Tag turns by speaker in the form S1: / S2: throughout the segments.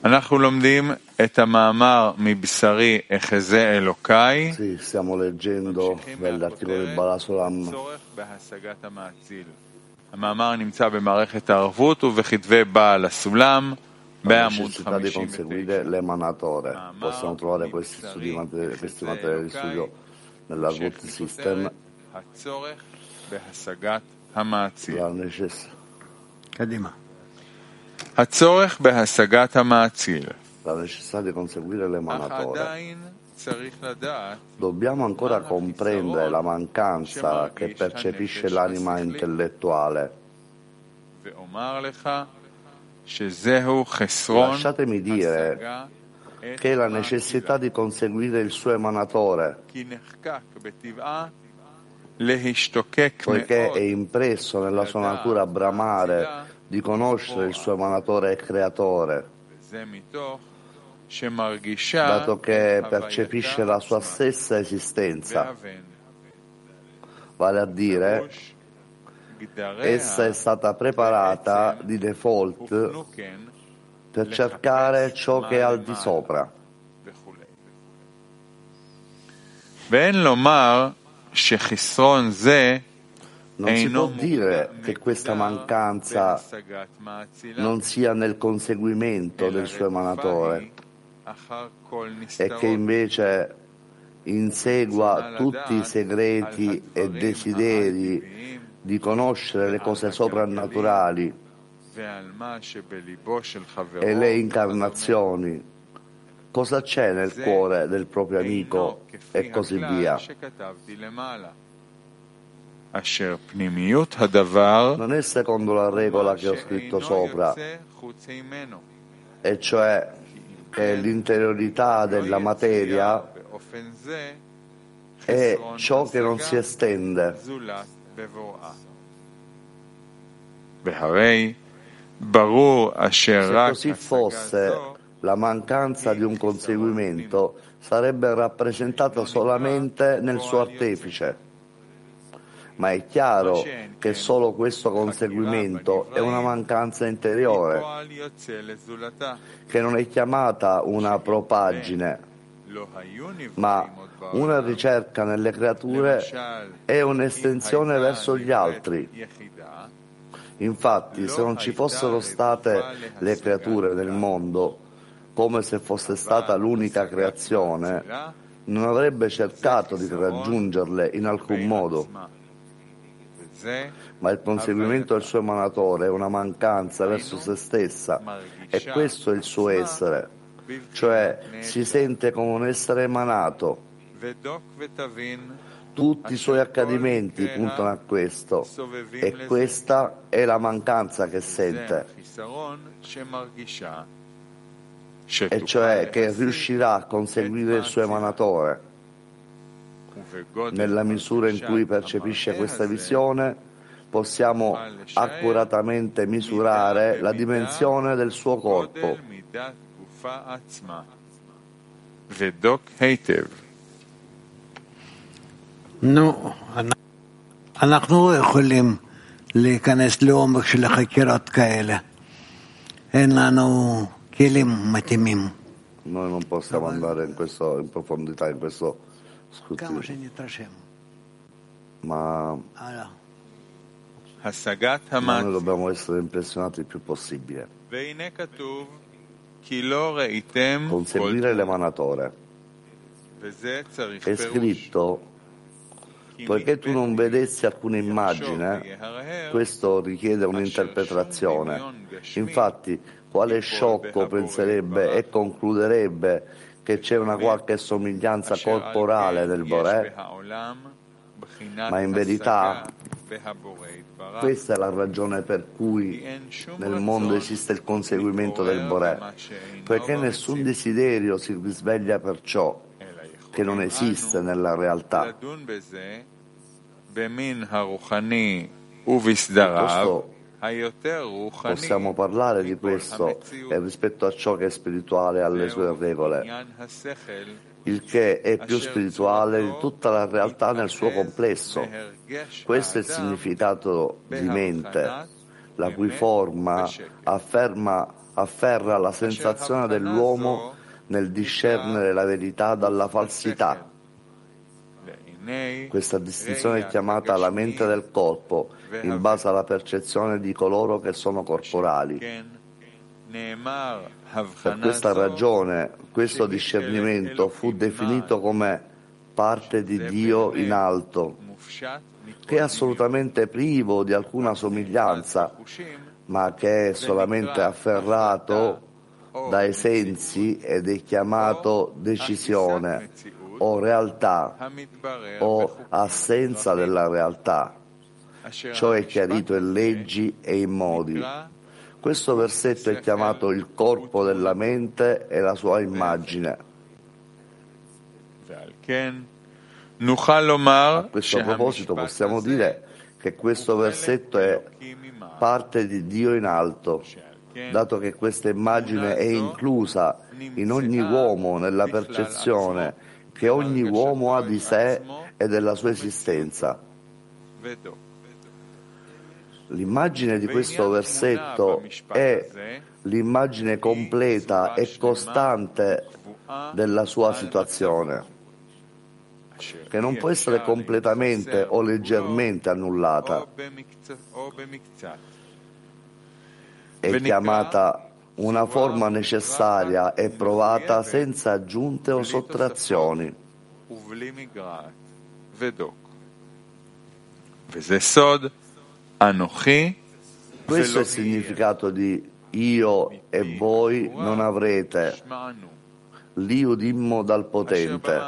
S1: אנחנו לומדים את המאמר מבשרי אחזה אלוקיי.
S2: Sì, stiamo leggendo dall'articolo di Balasolam.
S1: המאמר נמצא במערכת הערבות ובכתבי בעל הסולם בעמוד
S2: Necessità di
S1: 59.
S2: conseguire l'emanatore. Possiamo trovare questi materiali di studio nell'Argut System.
S1: הצורך בהשגת המעציל.
S2: La necessità
S1: הצורך בהשגת המעציל.
S2: di conseguire
S1: אך
S2: l'emanatore.
S1: עדיין צריך לדעת
S2: Dobbiamo ancora comprendere la mancanza che percepisce l'anima intellettuale.
S1: ואומר לך שזהו חסרון
S2: Lasciatemi dire che è la necessità di conseguire il suo emanatore,
S1: כי נחקק בטבעה להשתוקק
S2: poiché è
S1: מאוד
S2: impresso nella sua natura bramare di conoscere il suo emanatore e creatore,
S1: וזה מתוך שמרגישה
S2: dato che
S1: את
S2: percepisce
S1: הווייתה
S2: la sua
S1: עצמה
S2: stessa esistenza.
S1: והבן.
S2: Vale a dire, essa è stata preparata di default
S1: הוכנו כן
S2: per cercare ciò che è al di sopra.
S1: וכו'. ואין לומר שחסרון זה
S2: Non si può
S1: אינו
S2: dire che questa mancanza
S1: בהשגת מעצילה,
S2: non sia nel conseguimento del suo emanatore
S1: אחר כל
S2: e
S1: נסתרות.
S2: che invece insegua tutti i segreti e desideri di conoscere le cose soprannaturali
S1: ועל מה שבליבו של חברו,
S2: e le incarnazioni, cosa c'è nel cuore del proprio amico e così via.
S1: שכתבתי למעלה. אשר פנימיות הדבר
S2: Non è secondo la regola che ho scritto sopra,
S1: יוצא חוץ ממנו.
S2: e cioè che l'interiorità della materia
S1: באופן זה
S2: è
S1: חסרון
S2: ciò che non
S1: השגה
S2: si estende.
S1: זולת בבוראה. והרי ברור אשר
S2: Se
S1: רק
S2: così
S1: השגה
S2: fosse,
S1: זו
S2: la mancanza di un conseguimento sarebbe rappresentata solamente nel suo artefice. Ma è chiaro che solo questo conseguimento è una mancanza interiore,
S1: פועל יוצא לזולתה.
S2: che non è chiamata una propaggine,
S1: לא היו נבראים
S2: ma
S1: עוד
S2: una
S1: בעולם.
S2: ricerca nelle creature
S1: למשל,
S2: è un'estensione verso gli altri.
S1: יחידה,
S2: Infatti, se non ci fossero state le creature nel mondo, come se fosse stata l'unica creazione, non avrebbe cercato di raggiungerle in alcun modo.
S1: וזה
S2: Ma il conseguimento del suo emanatore è una mancanza verso se stessa, e questo è il suo essere, cioè si sente come un essere emanato.
S1: ודוק ותבין
S2: Tutti i suoi accadimenti puntano a questo, e questa è la mancanza che
S1: זה
S2: sente,
S1: החיסרון שמרגישה
S2: e cioè che riuscirà a conseguire il suo emanatore. Nella misura in cui percepisce questa visione, possiamo accuratamente misurare la dimensione del suo corpo.
S1: גודל מידת גופה עצמה. ודוק היטב.
S3: נו, אנחנו יכולים להיכנס לעומק של חקירות כאלה. אין לנו כלים מתאימים.
S2: Noi non possiamo andare in profondità in questo
S3: כמה
S2: scrutinio,
S3: שנתרשם.
S2: ma
S1: השגת
S2: noi
S1: המעציל.
S2: dobbiamo essere impressionati il più possibile.
S1: והנה כתוב כי לא ראיתם כל
S2: Conseguire
S1: תמונה.
S2: l'emanatore.
S1: וזה צריך
S2: È
S1: פירוש.
S2: scritto, poiché tu non vedessi alcuna immagine, questo richiede un'interpretazione. Infatti, quale sciocco penserebbe e concluderebbe che c'è una qualche somiglianza corporale nel Boré? Ma in verità questa è la ragione per cui nel mondo esiste il conseguimento del Boré, poiché nessun desiderio si risveglia per ciò che non esiste nella realtà.
S1: לדון בזה במין הרוחני ובסדריו היותר רוחני
S2: Possiamo parlare di questo e rispetto a ciò che è spirituale alle sue regole,
S1: עניין השכל
S2: il che è più spirituale di tutta la realtà nel suo complesso. Questo è il significato di mente, la cui forma afferma afferra la sensazione dell'uomo nel discernere la verità dalla falsità. Questa distinzione è chiamata la mente del corpo, in base alla percezione di coloro che sono corporali. Per questa ragione, questo discernimento fu definito come parte di Dio in alto, che è assolutamente privo di alcuna somiglianza, ma che è solamente afferrato dai sensi ed è chiamato decisione o realtà o assenza della realtà, cioè chiarito in leggi e in modi. Questo versetto è chiamato il corpo della mente e la sua immagine. A questo proposito possiamo dire che questo versetto è parte di Dio in alto, dato che questa immagine è inclusa in ogni uomo nella percezione che ogni uomo ha di sé e della sua esistenza. L'immagine di questo versetto è l'immagine completa e costante della sua situazione, che non può essere completamente o leggermente annullata. È chiamata una forma necessaria e provata senza aggiunte o sottrazioni. Questo è il significato di io e voi non avrete, l'io dimmo dal potente.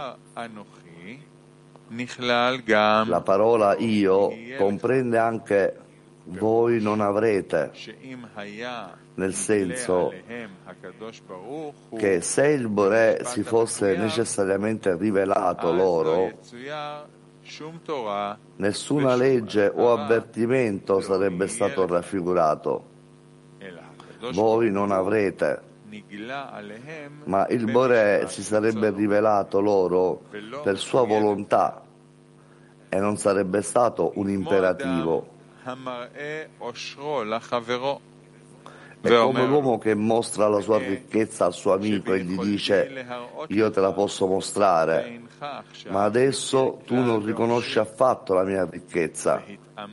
S2: La parola io comprende anche voi non avrete, nel senso che se il Boré si fosse necessariamente rivelato loro, nessuna legge o avvertimento sarebbe stato raffigurato. Voi non avrete, ma il Boré si sarebbe rivelato loro per sua volontà e non sarebbe stato un imperativo. È come l'uomo che mostra la sua ricchezza al suo amico e gli dice: io te la posso mostrare, ma adesso tu non riconosci affatto la mia ricchezza.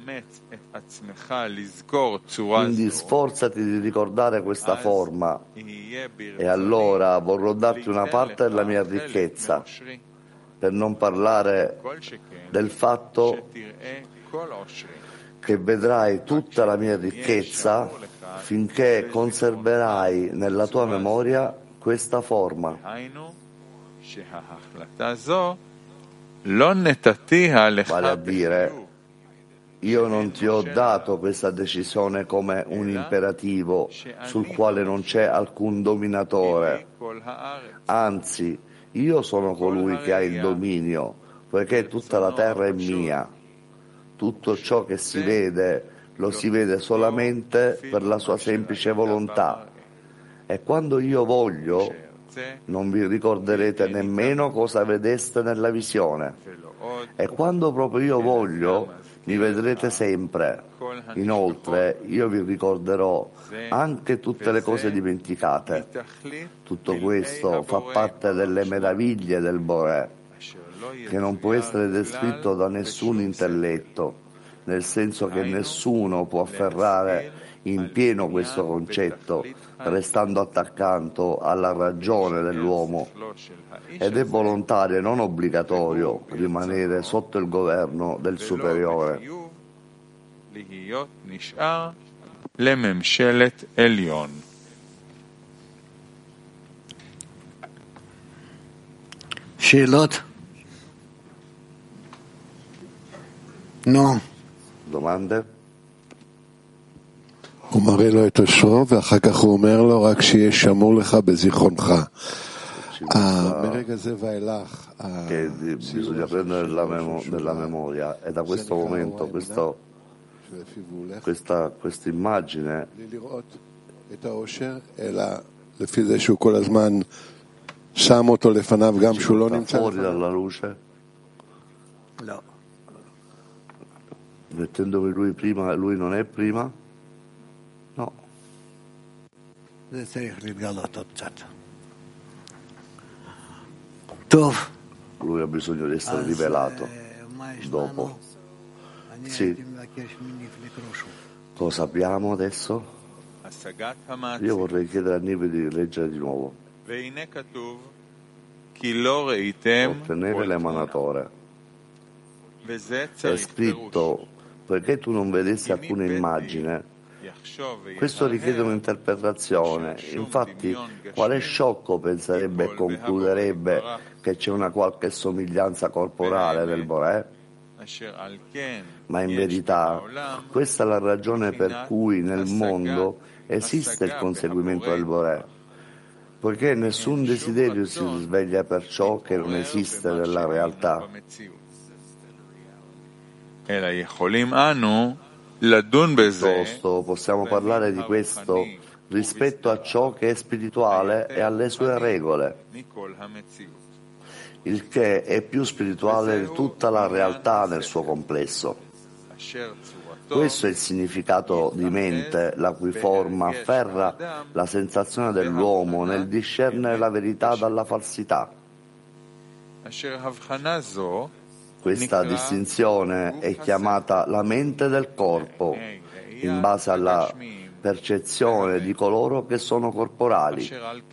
S2: Quindi sforzati di ricordare questa forma e allora vorrò darti una parte della mia ricchezza, per non parlare del fatto che vedrai tutta la mia ricchezza finché conserverai nella tua memoria questa forma. Vale a dire, io non ti ho dato questa decisione come un imperativo sul quale non c'è alcun dominatore. Anzi, io sono colui che ha il dominio, poiché tutta la terra è mia. Tutto ciò che si vede lo si vede solamente per la sua semplice volontà. E quando io voglio, non vi ricorderete nemmeno cosa vedeste nella visione. E quando proprio io voglio, mi vedrete sempre. Inoltre, io vi ricorderò anche tutte le cose dimenticate. Tutto questo fa parte delle meraviglie del Boré, che non può essere descritto da nessun intelletto, nel senso che nessuno può afferrare in pieno questo concetto, restando attaccato alla ragione dell'uomo, ed è volontario e non obbligatorio rimanere sotto il governo del superiore.
S3: שאלות? No.
S2: Domande?
S4: הוא מראה לו את אושרו ואחר כך הוא אומר לו רק שיהיה שמור לך בזיכרונך. מרגע זה ואילך
S2: che bisogna prendere nella memoria, e da questo momento questa immagine
S4: את האושר, אלא לפי זה שהוא כל הזמן שם אותו לפניו גם שהוא לא נמצא
S2: fuori dalla luce,
S3: No.
S2: mettendomi lui prima e lui non è prima? No.
S3: זה צריך להתגלות עוד קצת. טוב.
S2: Lui ha bisogno di essere rivelato dopo. Sì. Cosa abbiamo adesso? Io vorrei chiedere a Nive di leggere di nuovo. Ottenere l'emanatore. È scritto, poiché tu non vedessi alcuna immagine, questo richiede un'interpretazione. Infatti, quale sciocco penserebbe e concluderebbe che c'è una qualche somiglianza corporale del Boré? Ma in verità, questa è la ragione per cui nel mondo esiste il conseguimento del Boré, poiché nessun desiderio si risveglia per ciò che non esiste nella realtà. Piuttosto possiamo parlare di questo rispetto a ciò che è spirituale e alle sue regole, il che è più spirituale di tutta la realtà nel suo complesso. Questo è il significato di mente, la cui forma afferra la sensazione dell'uomo nel discernere la verità dalla falsità. Questa distinzione è chiamata la mente del corpo, in base alla percezione di coloro che sono corporali.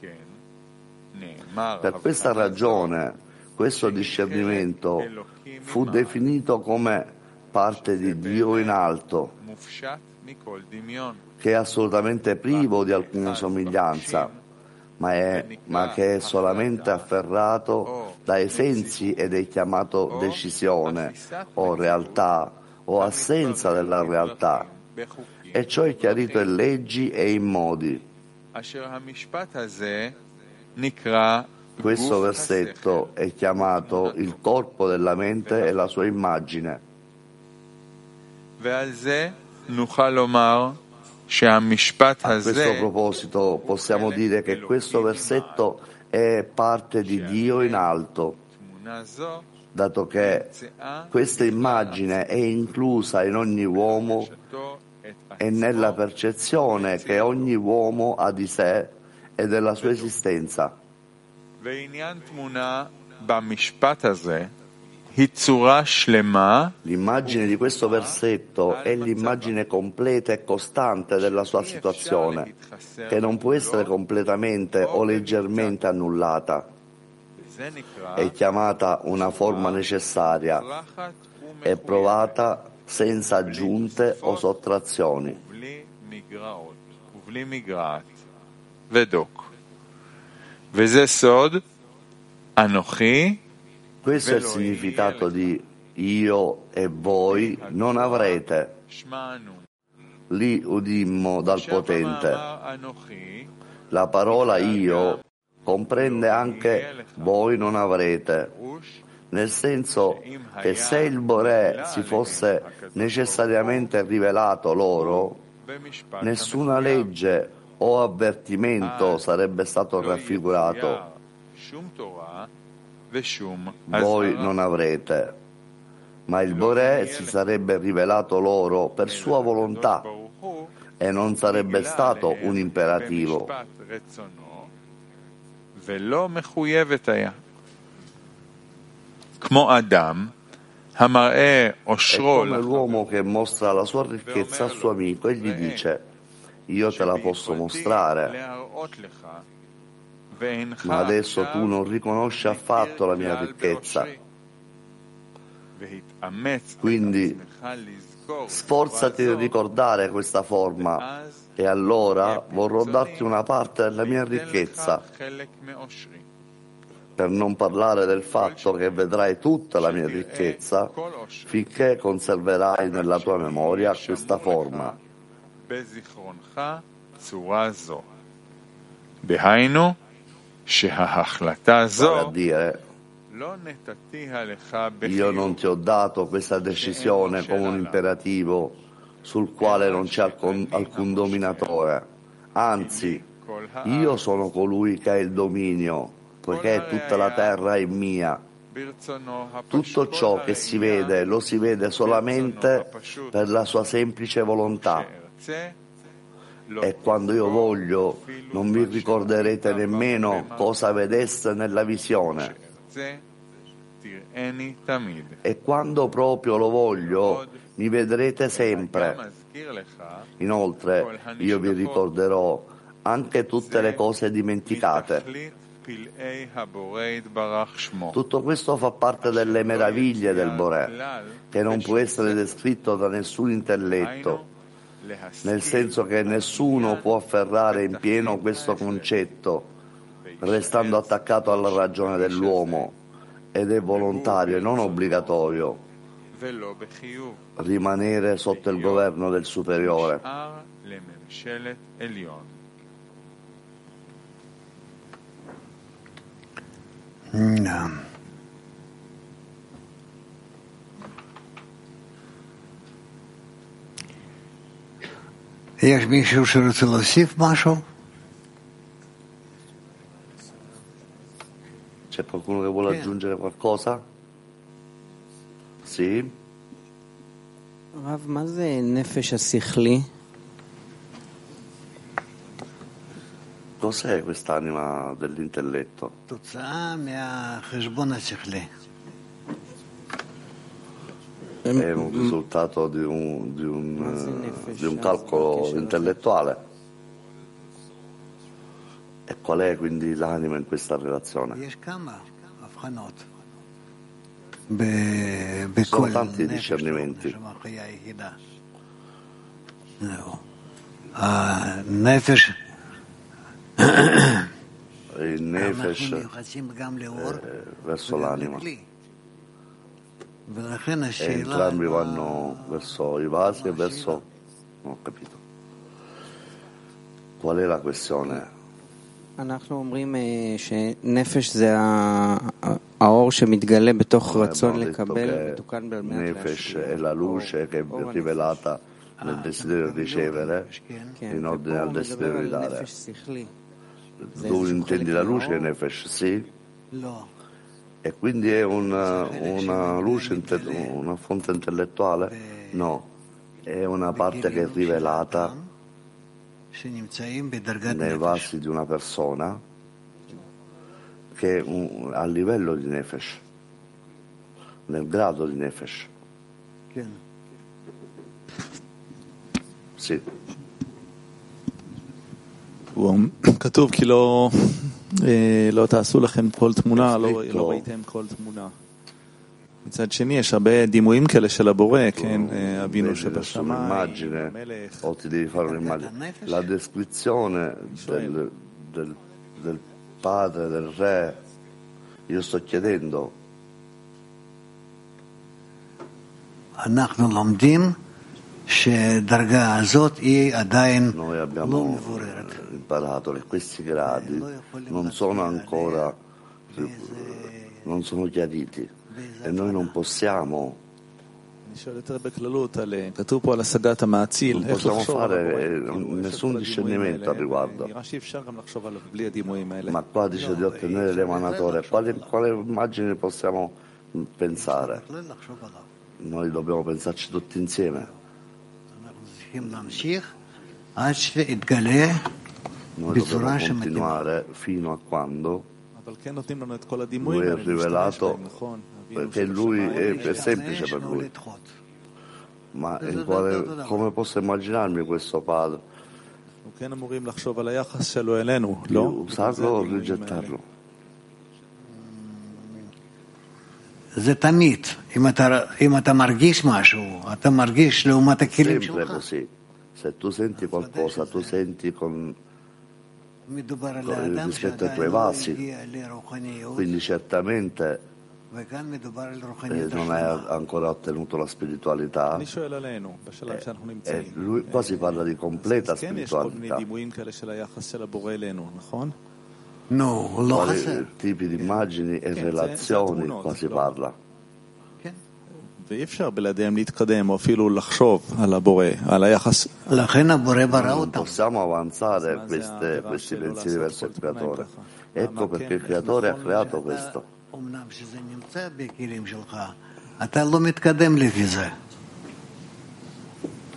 S2: Per questa ragione, questo discernimento fu definito come parte di Dio in alto, che è assolutamente privo di alcuna somiglianza, ma che è solamente afferrato dai sensi ed è chiamato decisione o realtà o assenza della realtà, e ciò è chiarito in leggi e in modi. Questo versetto è chiamato il corpo della mente e la sua immagine. A questo proposito possiamo dire che questo versetto è parte di Dio in alto, dato che questa immagine è inclusa in ogni uomo e nella percezione che ogni uomo ha di sé e della sua esistenza. L'immagine di questo versetto è l'immagine completa e costante della sua situazione, che non può essere completamente o leggermente annullata. È chiamata una forma necessaria e provata senza aggiunte o sottrazioni. Questo è il significato di io e voi non avrete. Lì udimmo dal potente. La parola io comprende anche voi non avrete, nel senso che se il Boré si fosse necessariamente rivelato loro, nessuna legge o avvertimento sarebbe stato raffigurato. Voi non avrete, ma il Boré si sarebbe rivelato loro per sua volontà e non sarebbe stato un imperativo. È come l'uomo che mostra la sua ricchezza al suo amico e gli dice: io te la posso mostrare, ma adesso tu non riconosci affatto la mia ricchezza. Quindi sforzati di ricordare questa forma e allora vorrò darti una parte della mia ricchezza, per non parlare del fatto che vedrai tutta la mia ricchezza finché conserverai nella tua memoria questa forma. Vale a dire, io non ti ho dato questa decisione come un imperativo sul quale non c'è alcun dominatore, anzi, io sono colui che ha il dominio, poiché tutta la terra è mia. Tutto ciò che si vede lo si vede solamente per la sua semplice volontà. E quando io voglio, non vi ricorderete nemmeno cosa vedeste nella visione. E quando proprio lo voglio, mi vedrete sempre. Inoltre, io vi ricorderò anche tutte le cose dimenticate. Tutto questo fa parte delle meraviglie del Boré, che non può essere descritto da nessun intelletto, nel senso che nessuno può afferrare in pieno questo concetto, restando attaccato alla ragione dell'uomo, ed è volontario e non obbligatorio rimanere sotto il governo del superiore.
S3: No. יש מישהו שרוצה להוסיף משהו?
S2: C'è qualcuno che vuole aggiungere qualcosa? Sì?
S5: רב, מה זה נפש השכלי?
S2: Cos'è quest'anima dell'intelletto?
S3: תוצאה מהחשבון השכלי.
S2: È un risultato di un calcolo intellettuale. E qual è quindi l'anima in questa relazione? Sono tanti discernimenti. Il nefesh verso l'anima. E entrambi vanno verso i vasi e verso... non ho capito. Qual è la questione?
S5: אנחנו אומרים שנפש זה האור שמתגלה בתוך רצון לקבל, מתוקן על מנת
S2: Nefesh è la luce che è rivelata nel desiderio di ricevere in ordine al desiderio di dare. Tu intendi la luce Nefesh, sì? E quindi è una luce, una fonte intellettuale? No, è una parte che è rivelata nei vasi di una persona che è a livello di Nefesh, nel grado di Nefesh. Sì.
S6: כתוב כי לא תעשו לכם כל תמונה, לא ראיתם כל תמונה. מצד שני, יש הרבה דימויים כאלה של הבורא, כן, אבינו שבשמיים, המלך.
S2: O ti devi fare un'immagine. La descrizione del padre, del re, io sto chiedendo.
S3: אנחנו לומדים שדרגה הזאת היא עדיין לא מבוררת.
S2: Imparato che questi gradi non sono ancora non sono chiariti e noi non possiamo fare nessun discernimento al riguardo. Ma qua dice di ottenere l'emanatore, quale immagine possiamo pensare? Noi dobbiamo pensarci tutti insieme. Noi dobbiamo continuare fino a quando lui è rivelato, perché lui è semplice per lui. Ma come posso immaginarmi questo padre? Usarlo o rigettarlo?
S3: זה תמיד, אם אתה מרגיש משהו, אתה מרגיש לעומת הכלים שלך.
S2: Sempre così. Se tu senti qualcosa, tu senti rispetto ai tuoi vasi, quindi certamente non hai ancora ottenuto la spiritualità. Lui qua si parla di completa spiritualità. Quali tipi di immagini e relazioni qua si parla.
S6: ואי אפשר בלעדיהם להתקדם או אפילו לחשוב על הבורא, על היחס.
S2: Non possiamo avanzare questi pensieri verso il creatore. Ecco perché il creatore ha creato questo.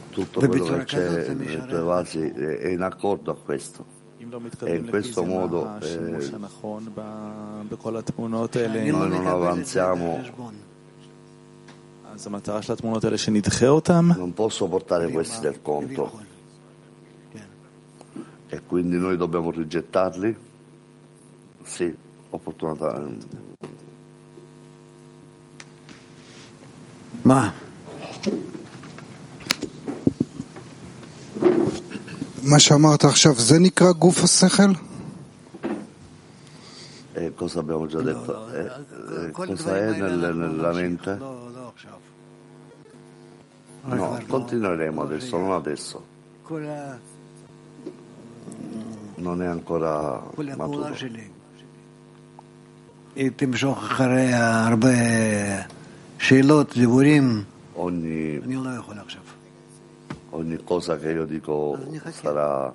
S2: tutto quello che c'è nei tuoi vasi è in accordo a questo. E in questo modo noi non avanziamo. Non posso portare questi nel conto e quindi noi dobbiamo rigettarli? Sì, opportunamente.
S3: Ma
S7: מה שאמרת עכשיו, זה נקרא גוף השכל?
S2: Cosa abbiamo già detto? Cosa è nella mente? No, continueremo adesso, non adesso. Non è ancora maturo.
S3: תמשוך אחרי הרבה שאלות, דיבורים, אני לא יכול עכשיו.
S2: Ogni cosa che io dico sarà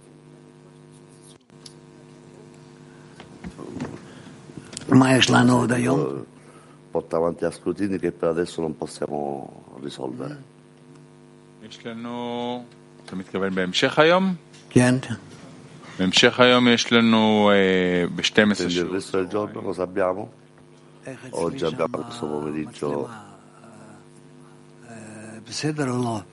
S3: מה יש לנו עוד היום?
S2: porta avanti a scrutini che per adesso non possiamo risolvere.
S1: יש לנו, אתה מתכוון בהמשך היום?
S3: כן.
S1: בהמשך היום יש לנו ב-12
S2: Quindi il resto del giorno cosa abbiamo? Oggi abbiamo questo pomeriggio.
S3: בסדר או לא?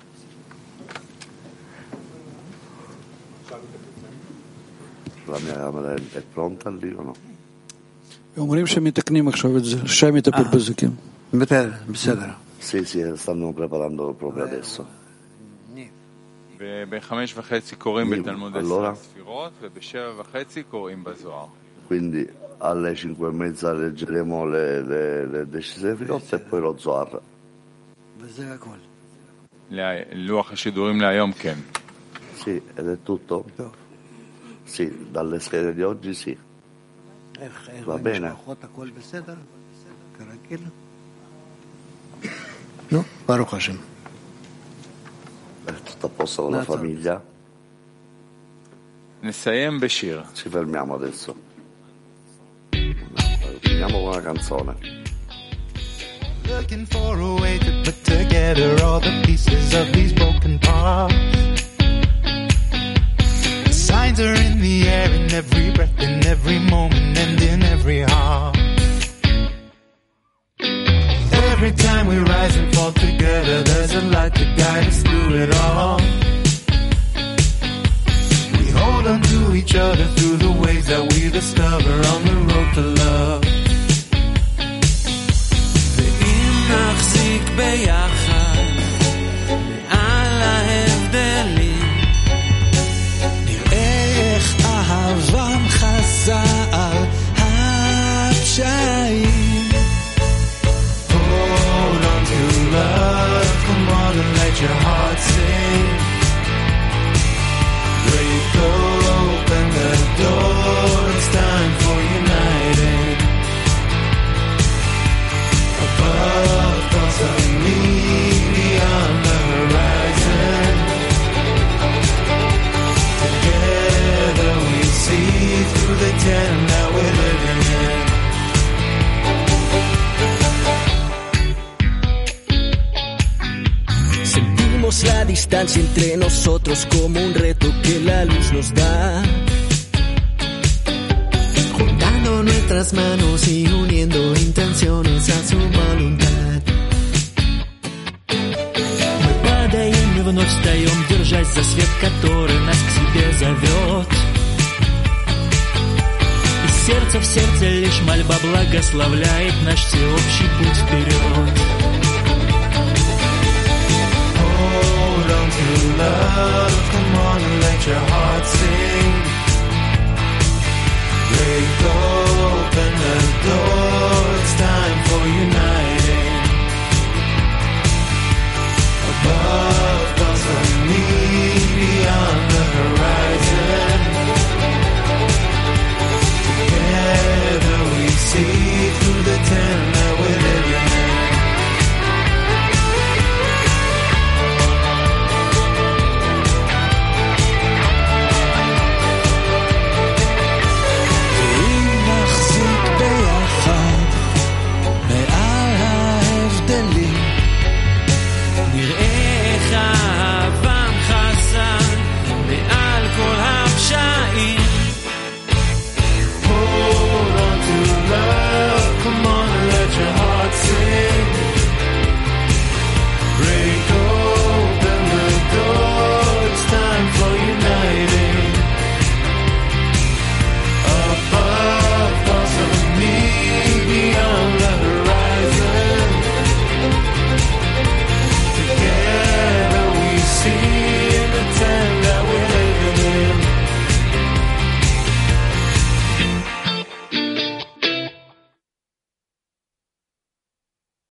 S2: La mia camera è pronta lì o no?
S8: אומרים שמתקנים עכשיו את זה, שי מטפל בזה, כן.
S3: בסדר.
S2: Sì, stanno preparando proprio adesso.
S1: וב-5:30 קוראים בתלמוד 10 ספירות, וב-7:30 קוראים בזוהר.
S2: Quindi alle 5:30 leggeremo le decisioni filotte e poi lo Zohar.
S3: וזה הכל.
S1: לוח השידורים להיום, כן.
S2: Sì, ed è tutto? Sì, dalle schede di oggi sì. Va bene?
S3: הכל בסדר? כרגיל? נו, ברוך השם.
S2: È tutto a posto con la famiglia?
S1: נסיים בשיר.
S2: Ci fermiamo adesso. Finiamo con una canzone.
S9: Looking for a way to put together all the pieces of these broken parts. The signs are in the air, in every breath, in every moment, and in every heart. Every time we rise and fall together, there's a light to guide us through it all. We hold on to each other through the ways that we discover on the road to love. נחזיק ביחד מעל ההבדלים, נראה איך אהבם חזה על הפשעים. Hold on to love, come on and let your heart sing. Break open the door, it's time for uniting. Above thoughts of me, beyond the horizon. Together we see through the den that we're living in.
S10: Sentimos la distancia entre nosotros como un reto que la luz nos da. Nuestras manos y uniendo intenciones a su voluntad. Мы падаем и вновь встаем, держась за свет, который нас к себе зовет. Из сердца в сердце лишь мольба благословляет наш всеобщий путь вперед.
S9: Hold on to love, come on and let your heart sing. Break